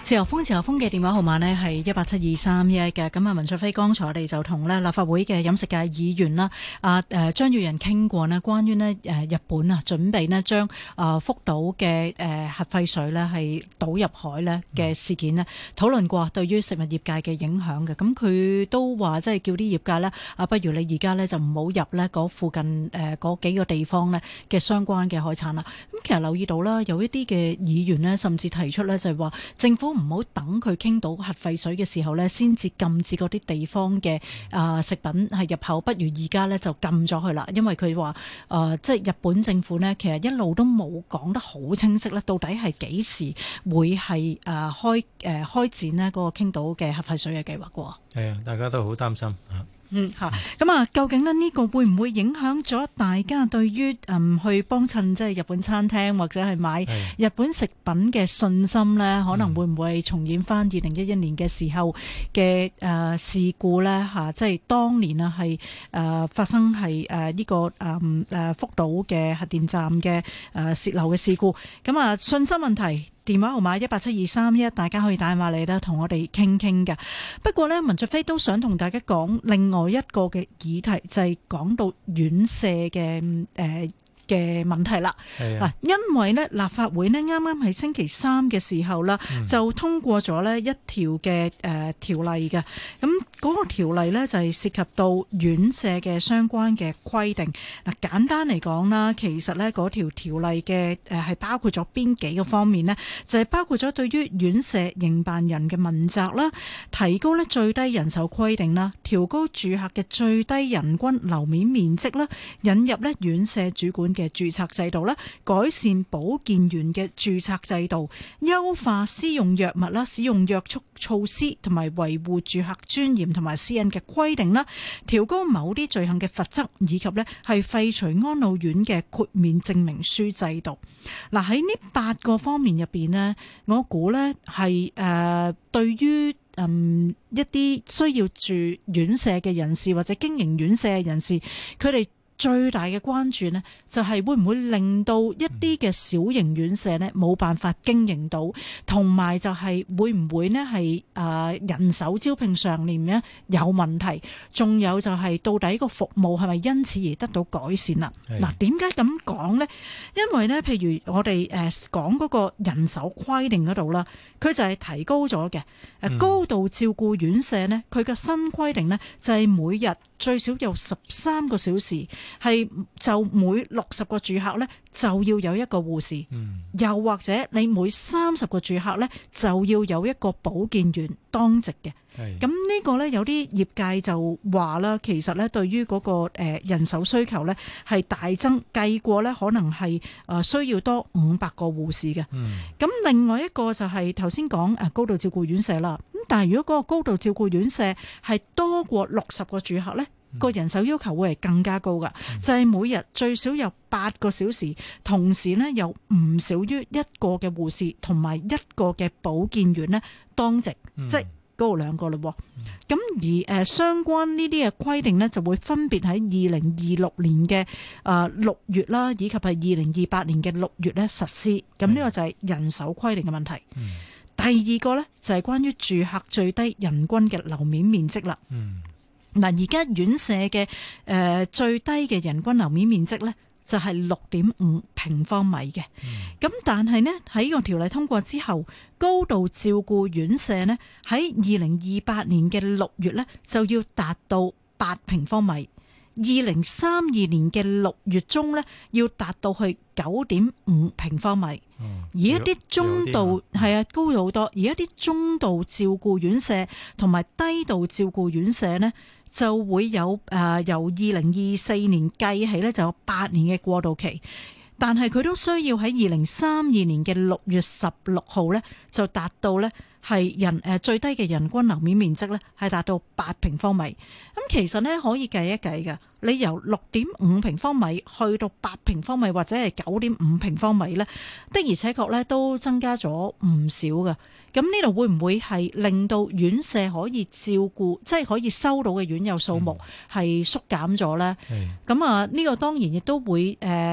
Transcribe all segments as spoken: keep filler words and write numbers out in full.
自由風自由風嘅電話號碼呢係一八七二三一嘅。咁啊，文灼非剛才我哋就同咧立法會嘅飲食界議員啦，啊誒張宇人傾過呢關於呢誒日本啊準備呢將啊福島嘅誒核廢水呢係倒入海呢嘅事件呢討論過對於食物業界嘅影響嘅。咁佢都話即係叫啲業界呢，啊，不如你而家呢就唔好入呢嗰附近誒嗰幾個地方呢嘅相關嘅海產啦。咁其實留意到啦，有一啲嘅議員呢甚至提出呢就係話政府唔好等佢傾到核廢水嘅時候呢，先至禁止嗰啲地方嘅啊食品係入口，不如而家呢就禁咗佢啦。因為佢話誒，即係日本政府呢，其實一路都冇講得好清晰咧，到底係幾時會係誒開誒開展呢嗰個傾到嘅核廢水嘅計劃嘅。 係啊，大家都好擔心啊。 嗯吓，咁啊，究竟咧呢個會唔會影響咗大家對於嗯去幫襯即係日本餐廳或者係買日本食品嘅信心咧？可能會唔會重演翻二零一一年嘅時候嘅誒事故咧？吓，即係當年啊係誒發生係誒呢個誒誒福島嘅核電站嘅誒洩漏嘅事故。咁啊，信心問題。電話號碼一八七二三一，大家可以打電話嚟啦，同我哋傾傾嘅。不過呢，文灼非都想同大家講另外一個嘅議題，就係、是、講到院舍嘅誒。呃嘅問題啦，嗱，因為咧立法會咧啱啱喺星期三嘅時候啦，嗯、就通過咗咧一條嘅誒條例嘅，咁嗰個條例咧就係涉及到院舍嘅相關嘅規定。嗱，簡單嚟講啦，其實咧嗰條條例嘅誒係包括咗邊幾個方面呢？就係、是、包括咗對於院舍營辦人嘅問責啦，提高咧最低人手規定啦，調高住客嘅最低人均樓面面積啦，引入咧院舍主管嘅註冊制度啦，改善保健員嘅註冊制度，優化私用藥物啦，使用約束措施同埋維護住客尊嚴同埋私隱嘅規定啦，調高某啲罪行嘅罰則，以及咧係廢除安老院嘅豁免證明書制度。嗱，喺呢八個方面入邊呢，我估呢係誒對於嗯一啲需要住院舍嘅人士或者經營院舍嘅人士，佢哋最大嘅關注呢，就係會唔會令到一啲嘅小型院舍呢冇辦法經營到，同埋就係會唔會呢係誒人手招聘上面呢有問題，仲有就係到底個服務係咪因此而得到改善啦？嗱，點解咁講呢？因為呢，譬如我哋誒講嗰個人手規定嗰度啦，佢就係提高咗嘅。誒高度照顧院舍呢，佢嘅新規定呢，就係每日最少有十三個小時。係就每六十個住客呢，就要有一個護士，嗯、又或者你每三十個住客呢，就要有一個保健員當值嘅。咁呢個呢，有啲業界就話啦，其實呢對於嗰個誒人手需求呢，係大增，計過呢可能係誒需要多五百個護士嘅。咁、嗯、另外一個就係頭先講誒高度照顧院舍啦。咁但係如果嗰個高度照顧院舍係多過六十個住客呢，個人手要求會係更加高噶，就係每日最少有八個小時，同時呢有唔少於一個嘅護士同埋一個嘅保健員呢當值，嗯、即係嗰個兩個咯。咁、嗯、而誒相關呢啲嘅規定呢，就會分別喺二零二六年嘅誒六月啦，以及係二零二八年嘅六月咧實施。咁呢個就係人手規定嘅問題。嗯、第二個呢，就係關於住客最低人均嘅樓面面積啦。嗯嗱，而家院舍嘅誒、呃、最低嘅人均樓面面積呢，就係六點五平方米嘅。咁、嗯、但係呢，喺呢個條例通過之後，高度照顧院舍呢，喺二零二八年嘅六月呢，就要達到八平方米，二零三二年嘅六月中呢，要達到去九點五平方米。嗯、而一啲中度係啊高咗好多，而一啲中度照顧院舍同埋低度照顧院舍呢，就會有誒、呃、由二零二四年計起咧，就有八年嘅過渡期。但係佢都需要喺二零三二年嘅六月十六號咧，就達到咧係人誒最低嘅人均樓面面積咧係達到八平方米。咁其實咧可以計一計嘅，你由六點五平方米去到八平方米或者係九點五平方米咧，的而且確咧都增加咗唔少嘅。咁呢度會唔會係令到院舍可以照顧，即係可以收到嘅院友數目係縮減咗咧？咁啊呢個當然亦都會誒。呃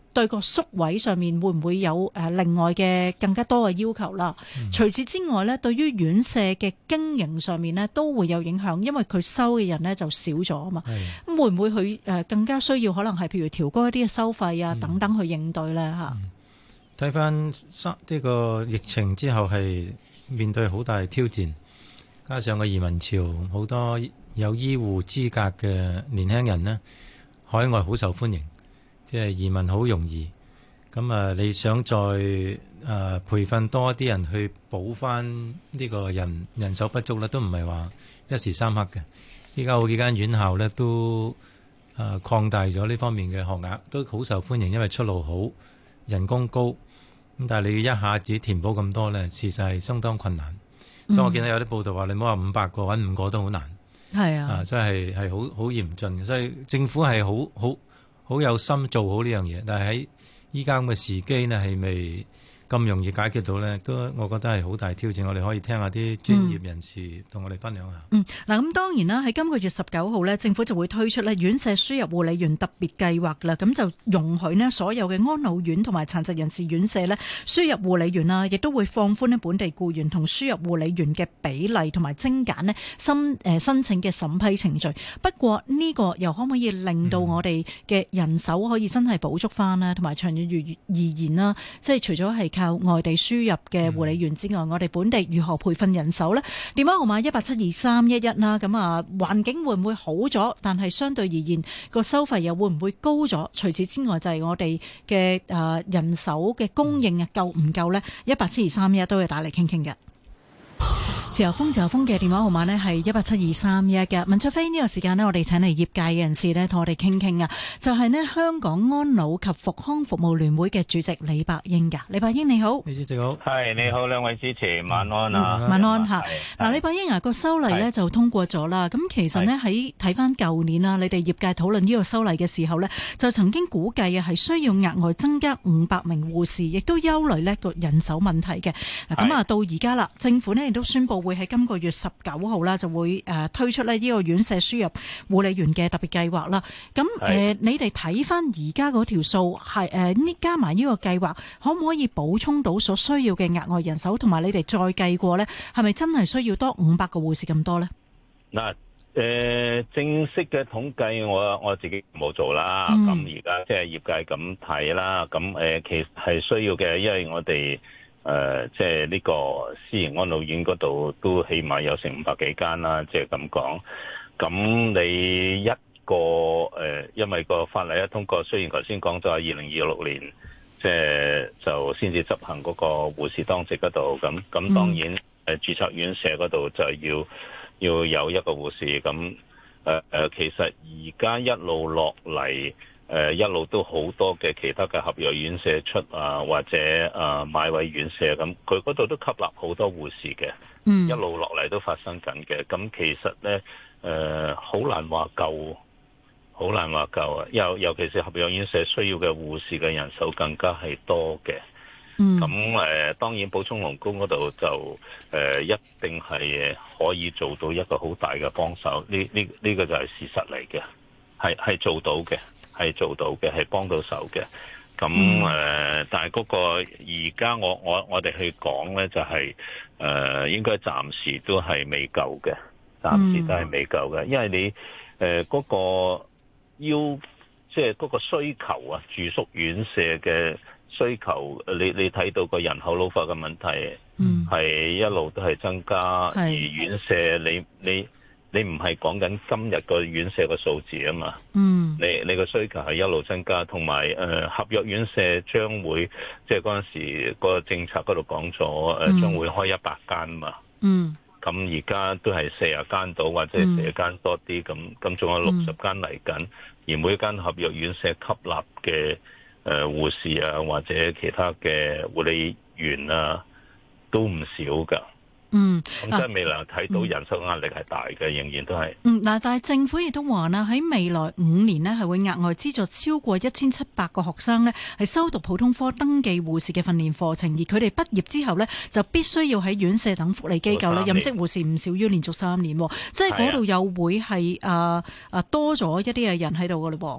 對個宿位上面會唔會有誒另外嘅更加多嘅要求啦？嗯、除此之外咧，對於院舍嘅經營上面咧都會有影響，因為佢收嘅人咧就少咗啊嘛。咁會唔會佢誒更加需要可能係譬如調高一啲嘅收費啊等等去應對咧嚇？ 睇翻呢個疫情之後係面對好大挑戰，加上個移民潮，好多有醫護資格嘅年輕人呢，海外好受歡迎，即係移民好容易。咁啊，你想再誒、呃、培訓多啲人去補翻呢個人人手不足咧，都唔係話一時三刻嘅。依家好幾間院校呢都誒、呃、擴大咗呢方面嘅學額，都好受歡迎，因為出路好，人工高。咁但係你要一下子填補咁多呢，事實係相當困難。嗯、所以我見到有啲報道話，你唔好話五百個揾五個都好難。係啊，啊，所以係係好好嚴峻嘅。所以政府係好好好有心做好呢樣嘢，但係喺依家咁嘅時機呢，係未咁容易解決到呢，都我覺得係好大挑戰。我哋可以聽下啲專業人士同我哋分享下。 嗯，嗱，咁當然啦，喺今個月十九號呢，政府就會推出呢院舍輸入護理員特別計劃啦。咁就容許呢所有嘅安老院同埋殘疾人士院舍呢輸入護理員啦，亦都會放寬呢本地僱員同輸入護理員嘅比例，同埋精簡呢申誒申請嘅審批程序。不過呢個又可唔可以令到我哋嘅人手可以真係補足翻呢？同埋長遠而言啦，即係除咗係靠外地輸入嘅護理員之外，嗯、我哋本地如何培訓人手呢？電話號碼一八七二三一一啦。咁啊，環境會唔會好咗？但係相對而言，個收費又會唔會高咗？除此之外，就係我哋嘅誒人手嘅供應啊，夠唔夠呢？一八七二三一一都要打嚟傾傾嘅。自由風自由風嘅電話號碼呢係一八七二三一嘅。文卓飛，呢個時間呢，我哋請嚟業界嘅人士呢，同我哋傾傾啊。就係、是、呢香港安老及復康服務聯會嘅主席李百英噶。李百英你好， 李主席好， 係你好，兩位主持晚安啊， 嗯、晚安吓。嗱，李百英啊，個修例呢就通過咗啦。咁其實呢，喺睇翻舊年啊，你哋業界討論呢個修例嘅時候呢，就曾經估計啊係需要額外增加五百名護士，亦都憂慮呢個人手問題嘅。咁啊，到而家啦，政府呢亦都宣布會喺今個月十九號啦，就會誒推出咧呢個院舍輸入護理員嘅特別計劃啦。咁誒、呃，你哋睇翻而家嗰條數係誒呢加埋呢個計劃，可唔可以補充到所需要嘅額外人手？同埋你哋再計過呢，係咪真係需要多五百個護士咁多呢？ 嗱，誒正式嘅統計我我自己冇做啦。咁而家即係業界咁睇啦。咁誒、呃、其實係需要嘅，因為我哋。誒、呃，即係呢個私營安老院嗰度都起碼有成五百幾間啦，即係咁講。咁你一個誒、呃，因為個法例一通過，雖然頭先講咗係二零二六年，即係就先至執行嗰個護士當值嗰度。咁咁當然誒，註冊院舍嗰度就要要有一個護士。咁誒誒，其實而家一路落嚟。誒、呃、一路都好多嘅其他嘅合約院舍出啊，或者誒、呃、買位院舍咁，佢嗰度都吸納好多護士嘅，嗯、一路落嚟都發生緊嘅。咁其實咧誒好難話夠，好難話夠啊！尤尤其是合約院舍需要嘅護士嘅人手更加係多嘅。咁誒、嗯呃、當然補充勞工嗰度就誒、呃、一定係可以做到一個好大嘅幫手。呢呢呢個就係事實嚟嘅，係係做到嘅。係做到嘅，係幫到手嘅。咁誒、呃，但係嗰個而家我我我哋去講咧，就係、是、誒、呃、應該暫時都係未夠嘅，暫時都係未夠嘅。因為你誒嗰、呃那個要即係嗰個需求啊，住宿院舍嘅需求，你你睇到個人口老化嘅問題，係一路都係增加，而院舍你你。你你唔係講緊今日個院舍個數字啊嘛，嗯，你你個需求係一路增加，同埋誒合約院舍將會即係嗰陣時個政策嗰度講咗誒將會開一百間嘛，嗯，咁而家都係四十間到或者係四十間多啲，咁咁仲有六十間嚟緊，而每間合約院舍吸納嘅誒護士啊或者其他嘅護理員啊都唔少噶。嗯，咁即係未來睇到人手壓力係大嘅，嗯、仍然都係。嗯，嗱， 但係政府亦都話啦，喺未來五年呢係會額外資助超過一千七百個學生呢係修讀普通科登記護士嘅訓練課程，而佢哋畢業之後呢，就必須要喺院舍等福利機構呢任職護士唔少於連續三年，即係嗰度又會係誒誒多咗一啲嘅人喺度噶嘞噃。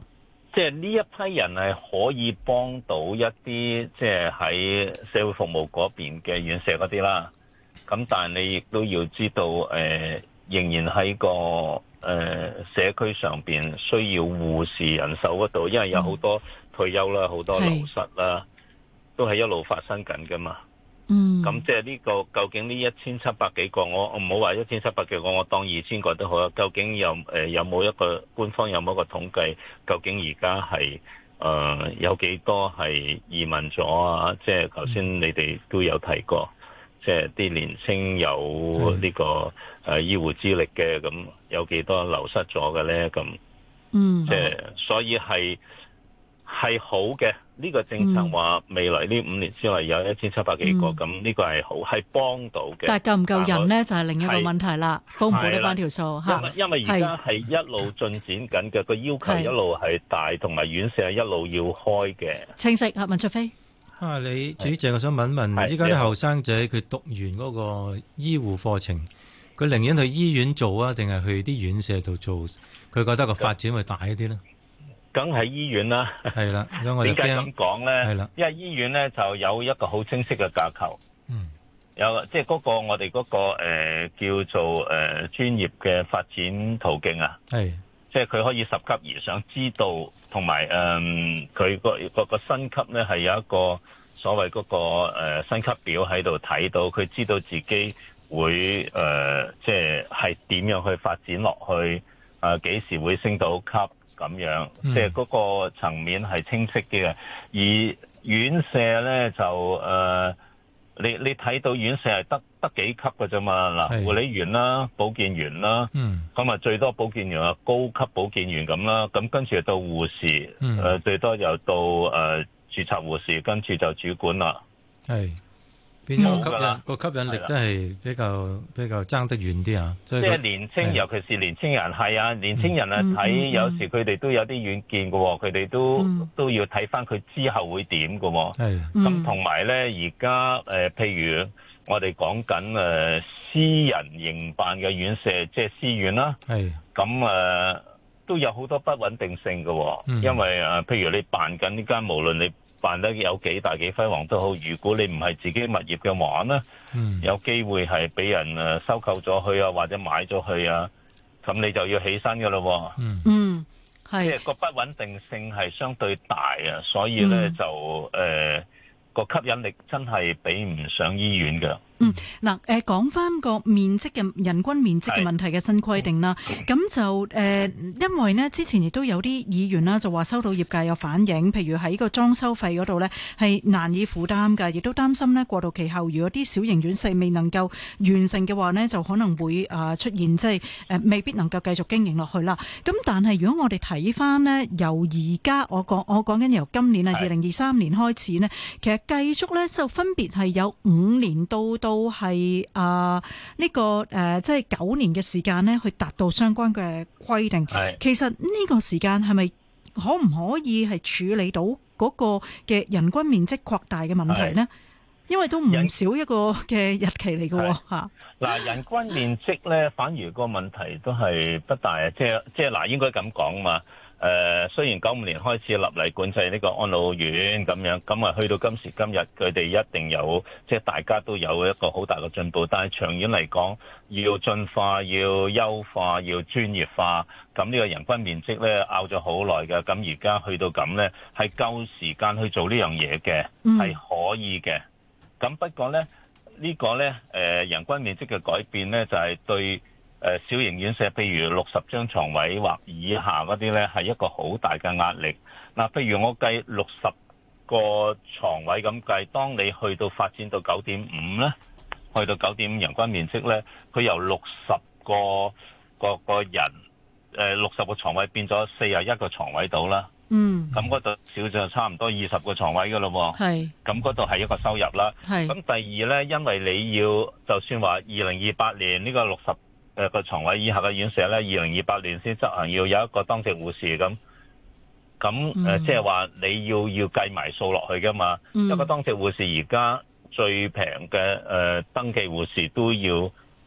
即係呢一批人係可以幫到一啲即係喺社會服務嗰邊嘅院舍嗰啲啦。咁但係你亦都要知道，誒、呃、仍然喺個誒、呃、社區上邊需要護士人手嗰度，因為有好多退休啦，好多流失啦，都係一路發生緊噶嘛。 嗯， 咁即係呢個究竟呢一千七百幾個，我我唔好話一千七百幾個，我當二千個都好啦。究竟有誒、呃、有冇一個官方有冇一個統計？究竟而家係誒有幾多係移民咗啊？即係頭先你哋都有提過，即係啲年青有呢、這個誒、呃、醫護資歷嘅，咁有幾多流失咗嘅咧？咁嗯， 即係所以係係好嘅。呢、這個政策話未來呢五年之內有一千七百幾個，咁呢、嗯、個係好，係幫到嘅。 但係夠唔夠人呢？就係、是、另一個問題啦，補唔補得翻條數嚇？ 因為而家係一路進展緊嘅，個要求一路係大，同埋院舍係一路要開嘅。 清晰啊，文灼非啊，你主席，我想問一問，依家啲後生仔佢讀完嗰個醫護課程，佢寧願去醫院做啊，定係去啲院舍度做？佢覺得個發展會大一啲呢？ 梗係醫院啦，係啦。點解咁講咧？係啦，因為醫院咧就有一個好清晰嘅架構，嗯，有即係嗰個我哋嗰、嗰個誒、呃、叫做誒、呃、專業嘅發展途徑啊，係，即係佢可以十級而上，知道同埋誒佢個個個薪級咧係有一個所謂嗰、嗰個誒薪級表喺度睇到，佢知道自己會誒、呃、即係係點樣去發展落去，啊、呃、幾時會升到級。咁樣，即係嗰個層面係清晰啲嘅。而院舍咧就誒、呃，你你睇到院舍係得得幾級嘅啫嘛。嗱，護理員啦、保健員啦，咁啊最多保健員啊，高級保健員咁啦。咁跟住到護士，誒、嗯呃、最多又到誒、呃、註冊護士，跟住就主管啦。係。邊個吸引個吸引力都係比較比較爭得遠啲啊！即係年青，尤其是年青人係啊，年青人啊睇、嗯、有時佢哋都有啲遠見嘅，佢哋都、嗯、都要睇翻佢之後會點嘅。係咁同埋咧，而家誒，譬如我哋講緊誒私人營辦嘅院舍，即係私院啦。係咁誒，都有好多不穩定性嘅、嗯，因為誒、呃，譬如你辦緊呢間，無論你辦得有幾大幾輝煌都好，如果你唔係自己物業嘅話呢、嗯、有機會係俾人誒收購咗佢啊，或者買咗佢啊，咁你就要起身噶咯。嗯，係，即係個不穩定性係相對大啊，所以呢，嗯、就誒個、呃、吸引力真係比唔上醫院嘅。 嗯，嗱，誒講翻個面積嘅人均面積嘅問題嘅新規定啦，咁就誒、呃，因為呢之前亦都有啲議員啦，就話收到業界有反映，譬如喺個裝修費嗰度呢係難以負擔㗎，亦都擔心呢過渡期後，如果啲小型院舍未能夠完成嘅話呢，就可能會啊出現即係誒未必能夠繼續經營落去啦。咁但係如果我哋睇翻呢，由而家我講我講緊由今年啊二零二三年開始呢，其實繼續呢就分別係有五年到到。都係啊呢個誒，即係九年嘅時間呢，去達到相關嘅規定。其實呢個時間係咪可唔可以係處理到嗰個嘅人均面積擴大嘅問題呢？因為都唔少一個嘅日期嚟嘅吓。嗱，人均面積呢，反而個問題都係不大啊！即係即係嗱，應該咁講嘛。誒、呃，雖然九五年開始立例管制呢個安老院咁樣，咁啊去到今時今日，佢哋一定有即係大家都有一個好大嘅進步，但係長遠嚟講，要進化、要優化、要專業化，咁呢個人均面積咧拗咗好耐嘅，咁而家去到咁咧，係夠時間去做呢樣嘢嘅，係可以嘅。咁不過咧，呢個咧誒人均面積嘅改變咧，就係對誒小型院舍，譬如六十張床位或以下嗰啲咧，係一個好大嘅壓力。嗱，譬如我計六十個床位咁計，當你去到發展到九點五咧，去到九點五人均面積咧，佢由六十個個個人誒六十個床位變咗四十一個床位到啦。嗯，咁嗰度少咗差唔多二十個床位噶咯喎。係，咁嗰度係一個收入啦。係，咁第二咧，因為你要就算話二零二八年呢個六十誒個床位以下嘅院舍咧，二零二八年先執行要有一個當值護士咁，咁誒即係話你要要計埋數落去噶嘛。嗯、一個當值護士而家最平嘅誒登記護士都要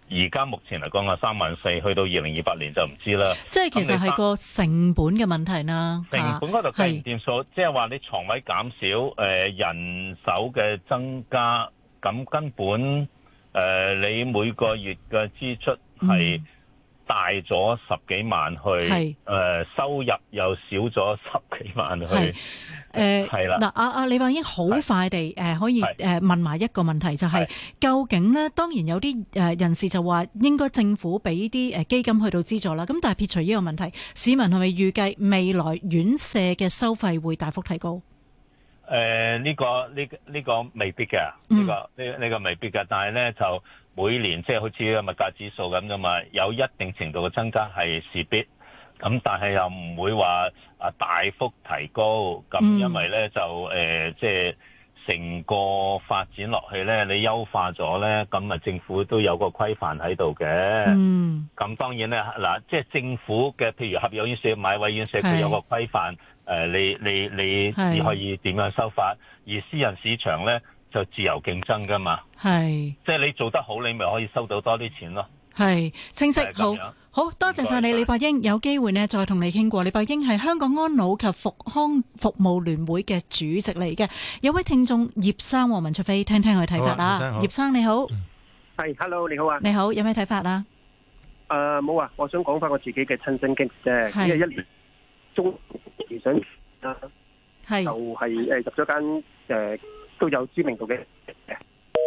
而家目前嚟講啊，三萬四，去到二零二八年就唔知啦。 即係其實係個成本嘅問題啦。 成本嗰度計唔掂數，即係話你床位減少，誒、呃、人手嘅增加，咁根本誒、呃、你每個月嘅支出係大咗十幾萬去，誒、呃、收入又少咗十幾萬去。 誒係啦， 嗱，阿阿李伯英好快地誒可以誒問埋一個問題，就係究竟咧，當然有啲誒人士就話應該政府俾啲誒基金去到資助啦。咁但係撇除呢個問題，市民係咪預計未來院舍嘅收費會大幅提高？ 誒呢個呢呢個未必嘅，呢個呢呢個未必嘅。但係咧就每年即係好似個物價指數咁噶嘛，有一定程度嘅增加係勢必。咁但係又唔會話啊大幅提高，咁因為咧就誒即係成個發展落去咧，你優化咗咧，咁啊政府都有個規範喺度嘅。嗯，咁當然咧嗱，即係政府嘅譬如合約院舍、買位院舍，佢有個規範，誒你你你只可以點樣收法，而私人市場咧就自由競爭噶嘛。係，即係你做得好，你咪可以收到多啲錢咯。係清晰，好好多謝晒你，李伯英。有機會呢再同你傾過。李伯英係香港安老及復康服務聯會嘅主席嚟嘅。有位聽眾葉生黃文卓飛，聽聽佢睇法啦。葉生你好， 係 ，hello 你好啊， 你好，有咩睇法啊？ 誒冇啊，我想講翻我自己嘅親身經歷啫。因為一年中時想啊，係就係誒入咗間誒都有知名度嘅誒。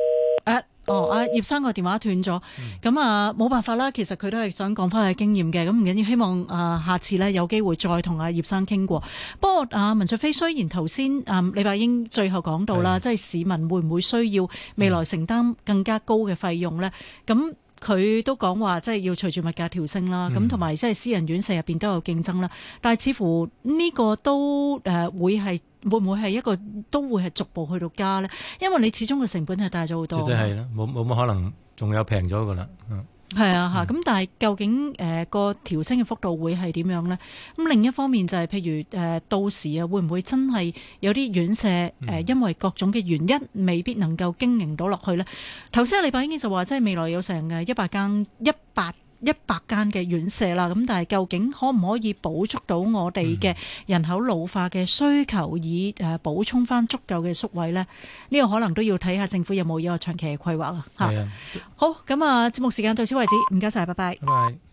Uh, 哦，阿葉生個電話斷咗，咁啊冇辦法啦。其實佢都係想講翻佢經驗嘅，咁唔緊要。希望啊、呃、下次呢有機會再同阿葉生傾過。不過阿文卓飛雖然頭先啊李伯英最後講到啦，即係市民會唔會需要未來承擔更加高嘅費用呢？咁佢都講話即係要隨住物價調升啦，咁同埋即係私人院舍入邊都有競爭啦。但係似乎呢個都誒、呃、會係。會唔會係一個都會係逐步去到加咧？因為你始終個成本係大咗好多。絕對係啦，冇冇乜可能仲有平咗噶啦。嗯，係啊嚇。咁、嗯、但係究竟誒個調升嘅幅度會係點樣咧？咁另一方面就係、是、譬如誒、呃、到時啊，會唔會真係有啲院舍誒、呃、因為各種嘅原因未必能夠經營到落去咧？頭先阿李伯英就話，即係未來有成嘅一百間一百。一百間嘅院舍啦，咁但係究竟可唔可以補足到我哋嘅人口老化嘅需求，以誒補充翻足夠嘅宿位呢？呢、這個可能都要睇下政府有冇一個長期嘅規劃啊！嚇，好，咁啊，節目時間到此為止，唔該晒，拜拜。拜拜。